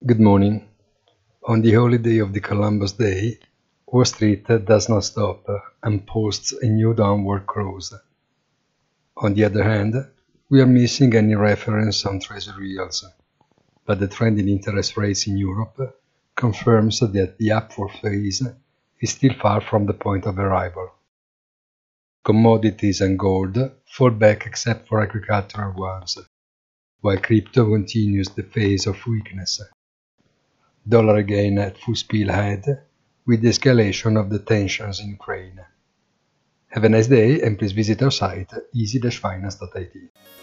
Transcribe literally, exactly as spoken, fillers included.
Good morning. On the holiday of the Columbus Day, Wall Street does not stop and posts a new downward close. On the other hand, we are missing any reference on Treasury yields, but the trend in interest rates in Europe confirms that the upward phase is still far from the point of arrival. Commodities and gold fall back except for agricultural ones, while crypto continues the phase of weakness. Dollar again at full speed ahead with the escalation of the tensions in Ukraine. Have a nice day and please visit our site easy dash finance dot I T.